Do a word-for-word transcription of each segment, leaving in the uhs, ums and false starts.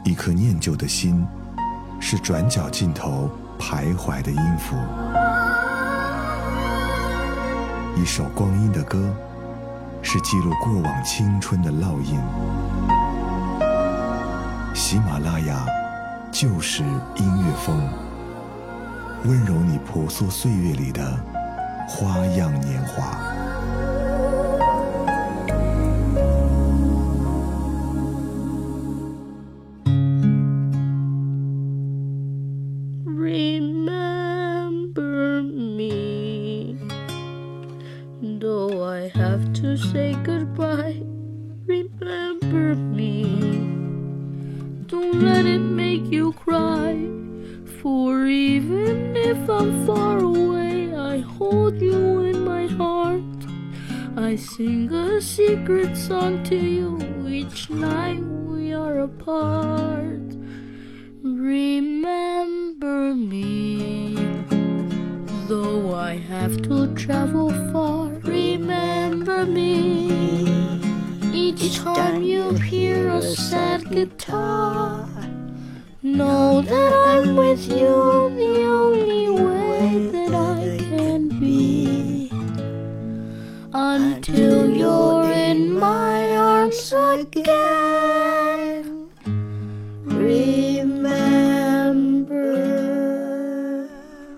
一颗念旧的心，是转角尽头徘徊的音符。一首光阴的歌，是记录过往青春的烙印。喜马拉雅就是音乐风，温柔你婆娑岁月里的花样年华。 Remember me, though I have to say goodbye. Remember me, don't let it make you cry. For even if I'm far away, I hold you in my heart. I sing a secret song to you each night we are apart. Remember me, though I have to travel far. Remember me, each time you hear a sad guitar. Know that I'm with you the only way that I can be, until you're in my arms again. Remember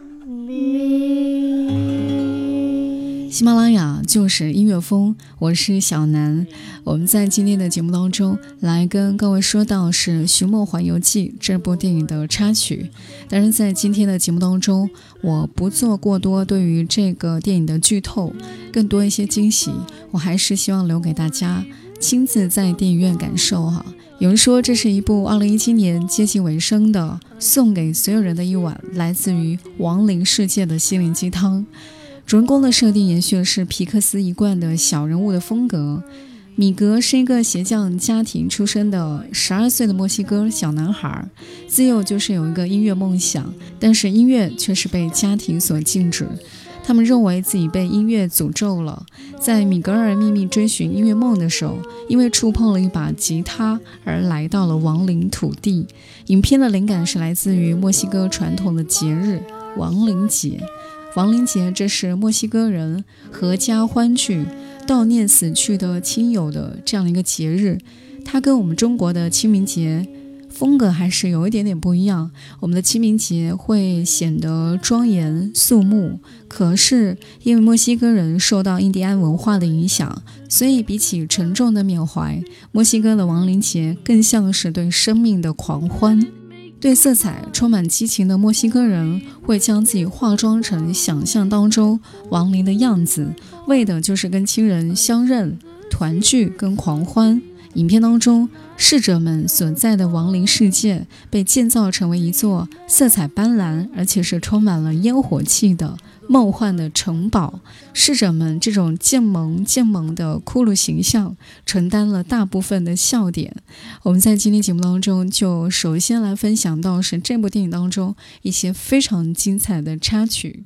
me. 喜马拉雅就是音乐风，我是小南。我们在今天的节目当中来跟各位说到是《寻梦环游记》这部电影的插曲。当然在今天的节目当中，我不做过多对于这个电影的剧透，更多一些惊喜我还是希望留给大家亲自在电影院感受哈。有人说这是一部二零一七年接近尾声的送给所有人的一碗来自于亡灵世界的心灵鸡汤。主人公的设定延续的是皮克斯一贯的小人物的风格。米格是一个鞋匠家庭出身的十二岁的墨西哥小男孩，自幼就是有一个音乐梦想，但是音乐却是被家庭所禁止。他们认为自己被音乐诅咒了。在米格尔秘密追寻音乐梦的时候，因为触碰了一把吉他而来到了亡灵土地。影片的灵感是来自于墨西哥传统的节日亡灵节。亡灵节这是墨西哥人合家欢聚悼念死去的亲友的这样的一个节日，它跟我们中国的清明节风格还是有一点点不一样。我们的清明节会显得庄严肃穆，可是因为墨西哥人受到印第安文化的影响，所以比起沉重的缅怀，墨西哥的亡灵节更像是对生命的狂欢。对色彩充满激情的墨西哥人会将自己化妆成想象当中亡灵的样子，为的就是跟亲人相认、团聚跟狂欢。影片当中，逝者们所在的亡灵世界被建造成为一座色彩斑斓而且是充满了烟火气的梦幻的城堡。逝者们这种渐萌渐萌的骷髅形象承担了大部分的笑点。我们在今天节目当中就首先来分享到是这部电影当中一些非常精彩的插曲。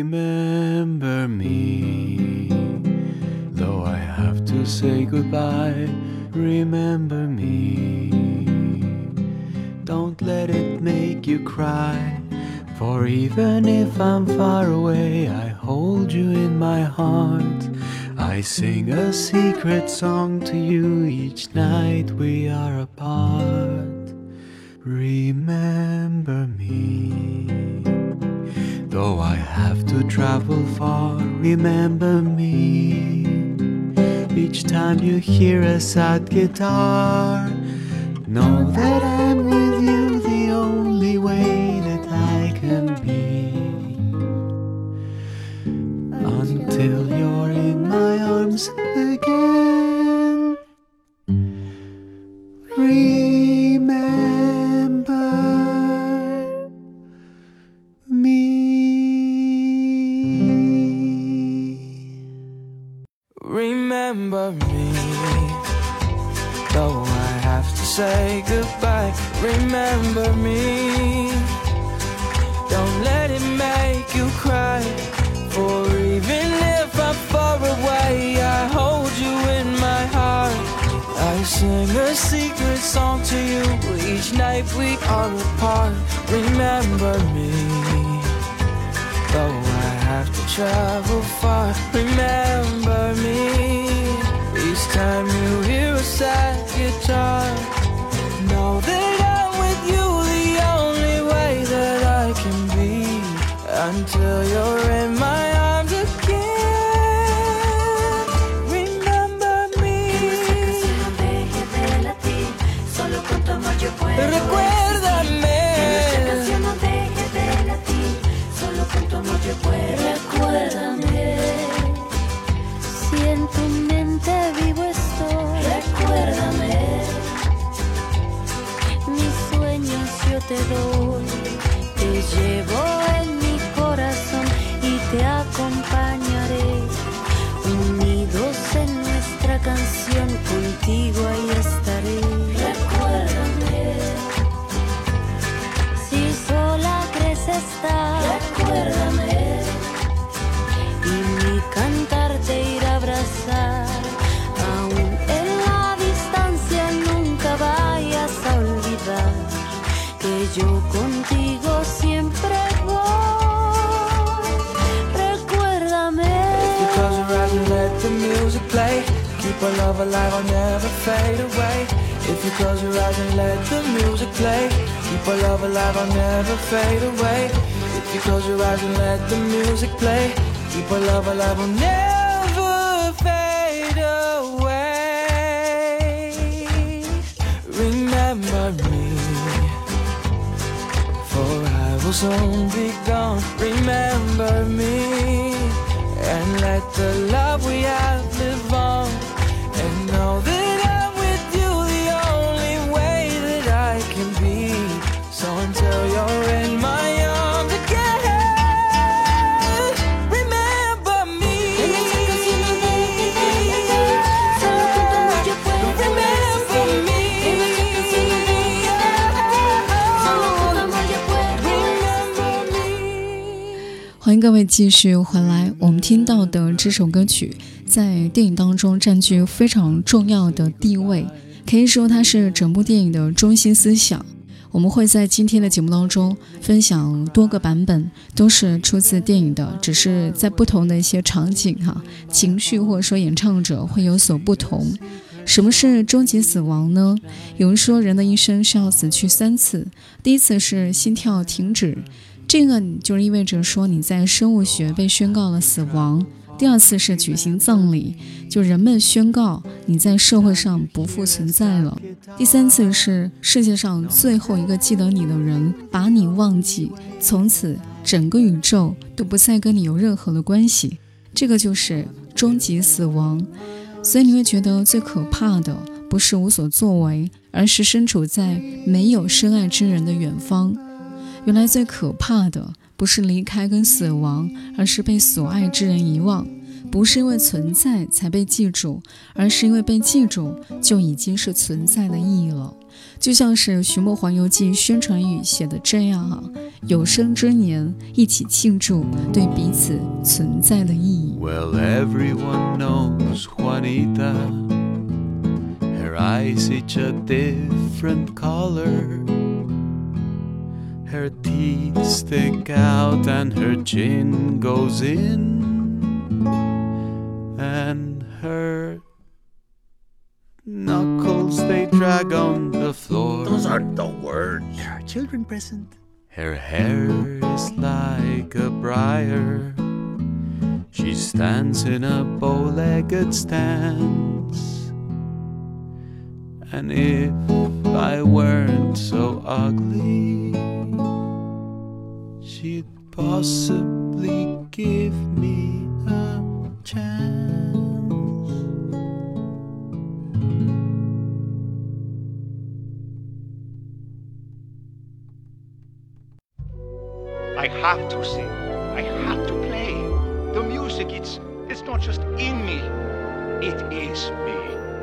Remember me, though I have to say goodbye. Remember me, don't let it make you cry. For even if I'm far away, I hold you in my heart. I sing a secret song to you each night we are apart. Remember me, though I have to travel far. Remember me, each time you hear a sad guitar. Know that I'm with you the only way that I can be, until you're in my arms again. Remember me. Remember me, though I have to say goodbye. Remember me, don't let it make you cry. For even if I'm far away, I hold you in my heart. I sing a secret song to you each night we are apart. Remember me, though I have to travel far. Remember me, each time you hear a sad guitar. Know that I'm with you the only way that I can be, until you're in my arms again. Remember me. Recuérdame. Recuérdame. Si en tu mente vivo estoy. Recuérdame. Mis sueños yo te doy. Te llevo en mi corazón y te acompañaré. Unidos en nuestra canción, contigo ahí estaré. Recuérdame. Si sola crees estar. Recuérdame. Y mi cantar te irá a abrazar. Aún en la distancia nunca vayas a olvidar que yo contigo siempre voy. Recuérdame. If you close your eyes and let the music play, keep our love alive, I'll never fade away. If you close your eyes and let the music play, keep our love alive, I'll never fade away. If you close your eyes and let the music play, keep our love alive, I'll never fade away. Remember me, for I will soon be gone. Remember me, and let the love we have live on. And know that I'm with you the only way that I can be. So until you're in my arms again, remember me. Remember me. 欢迎各位继续回来。我们听到的这首歌曲在电影当中占据非常重要的地位，可以说它是整部电影的中心思想。我们会在今天的节目当中分享多个版本，都是出自电影的，只是在不同的一些场景哈，情绪或者说演唱者会有所不同。什么是终极死亡呢？有人说人的一生是要死去三次，第一次是心跳停止，这个就意味着说你在生物学被宣告了死亡。第二次是举行葬礼，就人们宣告你在社会上不复存在了。第三次是世界上最后一个记得你的人把你忘记，从此整个宇宙都不再跟你有任何的关系，这个就是终极死亡。所以你会觉得最可怕的不是无所作为，而是身处在没有深爱之人的远方。原来最可怕的不是离开跟死亡，而是被所爱之人遗忘。不是因为存在才被记住，而是因为被记住就已经是存在的意义了。就像是《寻梦环游记》宣传语写的这样啊，有生之年一起庆祝对彼此存在的意义。 Well, everyone knows Juanita. Her eyes each a different color. Her teeth stick out and her chin goes in. And her knuckles, they drag on the floor. Those aren't the words. There are children present. Her hair is like a briar. She stands in a bow-legged stance. And if I weren't so ugly, she'd possibly give me a chance. I have to sing. I have to play. The music, it's it's not just in me. It is me.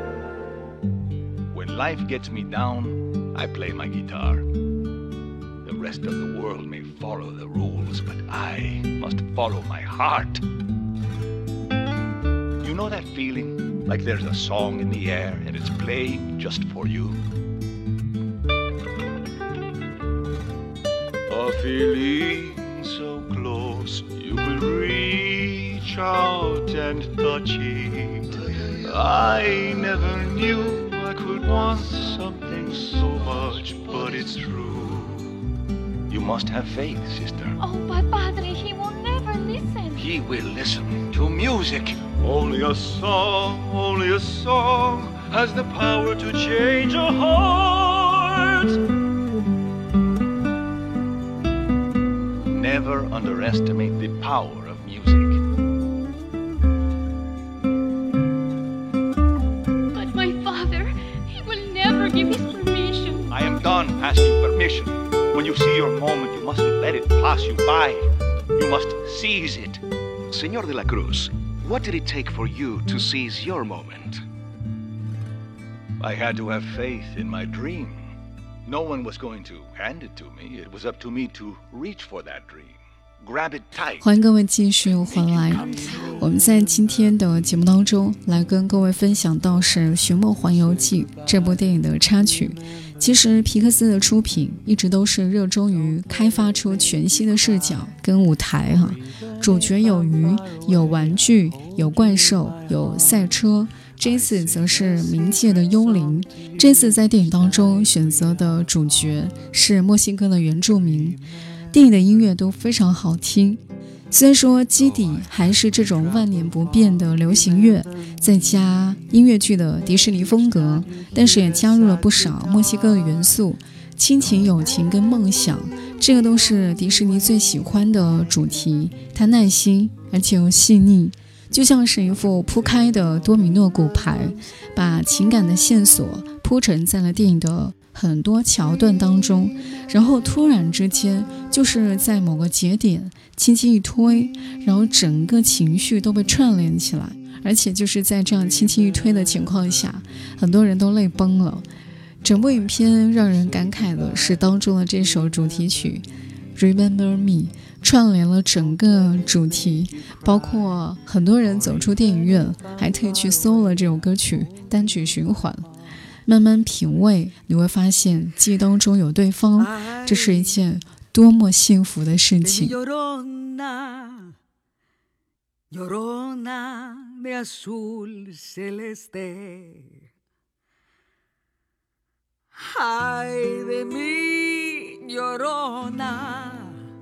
When life gets me down, I play my guitar. The rest of the world may follow the rules, but I must follow my heart. You know that feeling? Like there's a song in the air and it's playing just for you? A feeling so close you could reach out and touch it. I never knew I could want something so much, but it's true. You must have faith, sister. Oh, but Padre, he will never listen. He will listen to music. Only a song, only a song has the power to change a heart. Never underestimate the power of music. But my father, he will never give his permission. I am done asking permission. When you see your moment, you mustn't let it pass you by. You must seize it. Señor de la Cruz, what did it take for you to seize your moment? I had to have faith in my dream. No one was going to hand it to me. It was up to me to reach for that dream. Grab it tight. 欢迎各位继续回来。我们在今天的节目当中来跟各位分享到是《寻梦环游记》这部电影的插曲。其实皮克斯的出品一直都是热衷于开发出全新的视角跟舞台哈、啊，主角有鱼，有玩具，有怪兽，有赛车。这次则是冥界的幽灵。这次在电影当中选择的主角是墨西哥的原住民。电影的音乐都非常好听，虽然说基底还是这种万年不变的流行乐，再加音乐剧的迪士尼风格，但是也加入了不少墨西哥的元素，亲情、友情跟梦想，这个都是迪士尼最喜欢的主题。它耐心而且又细腻，就像是一副铺开的多米诺骨牌，把情感的线索铺陈在了电影的很多桥段当中，然后突然之间就是在某个节点轻轻一推，然后整个情绪都被串联起来，而且就是在这样轻轻一推的情况下，很多人都泪崩了。整部影片让人感慨的是当中的这首主题曲 Remember Me， 串联了整个主题，包括很多人走出电影院还特意去搜了这首歌曲单曲循环，慢慢品味，你会发现记忆当中有对方，这是一件多么幸福的事情。 Llorona, llorona de azul celeste. Ay de mí, llorona,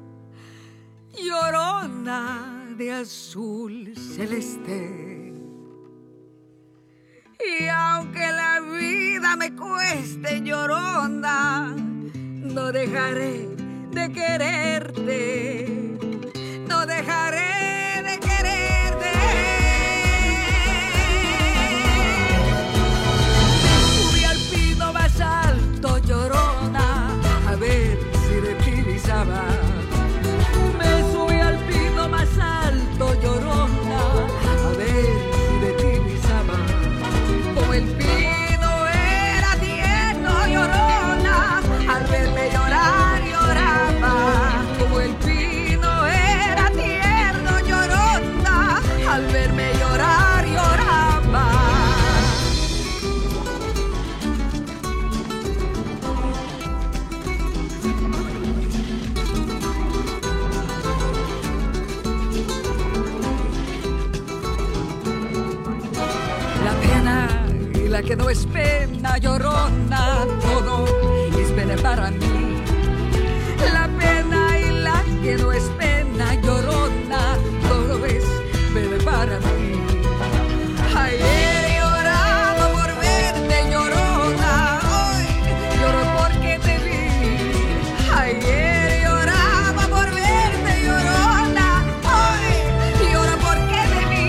llorona de azul celeste.Y aunque la vida me cueste, llorona, no dejaré de quererte, no dejaré de quererte. Me subí al pino más alto, llorona, a ver si de ti visaba. Me subí al pino más alto, llorona, a ver si de ti visaba.Como el pino era tierno, llorona, al verme llorar lloraba. Como el pino era tierno, llorona, al verme llorar lloraba. La pena,la que no es pena, llorona, todo es pena para mí. La pena y la que no es pena, llorona, todo es pena para mí. Ayer lloraba por verte, llorona, hoy lloro porque te vi. Ayer lloraba por verte, llorona, hoy lloro porque te vi.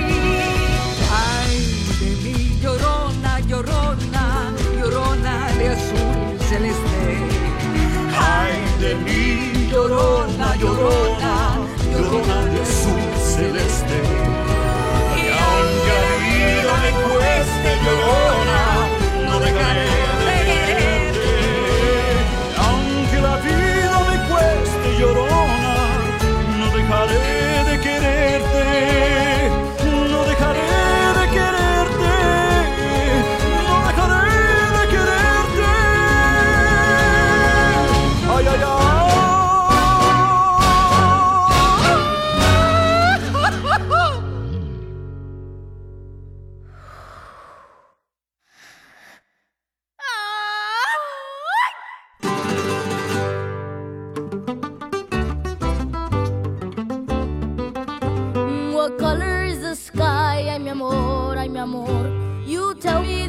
Llorona, llorona de azul celeste. Ay de mí, llorona, llorona, llorona de azul celeste. Y aunque la vida me cueste, llorona, no dejaré de quererte. Aunque la vida me cueste, llorona, no dejaré de quererte.No dejaré de quererte.No dejaré de quererte. Ay, ay, ay.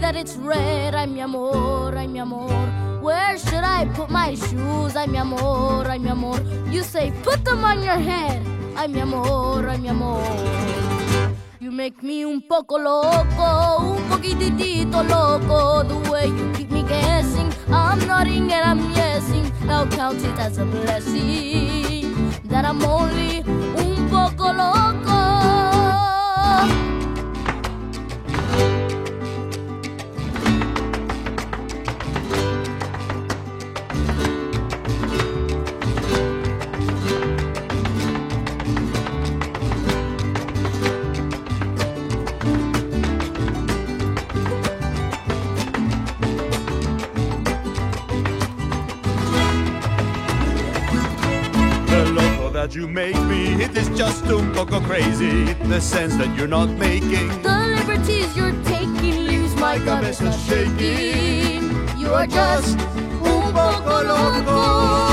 that it's red. Ay, mi amor, ay, mi amor. Where should I put my shoes? Ay, mi amor, ay, mi amor. You say, put them on your head. Ay, mi amor, ay, mi amor. You make me un poco loco, un poquitito loco. The way you keep me guessing, I'm nodding and I'm yesing. Now count it as a blessing that I'm only un poco loco. That you make me, it is just un poco crazy. The sense that you're not making the liberties you're taking leaves my cabeza shaking. You are just un poco loco.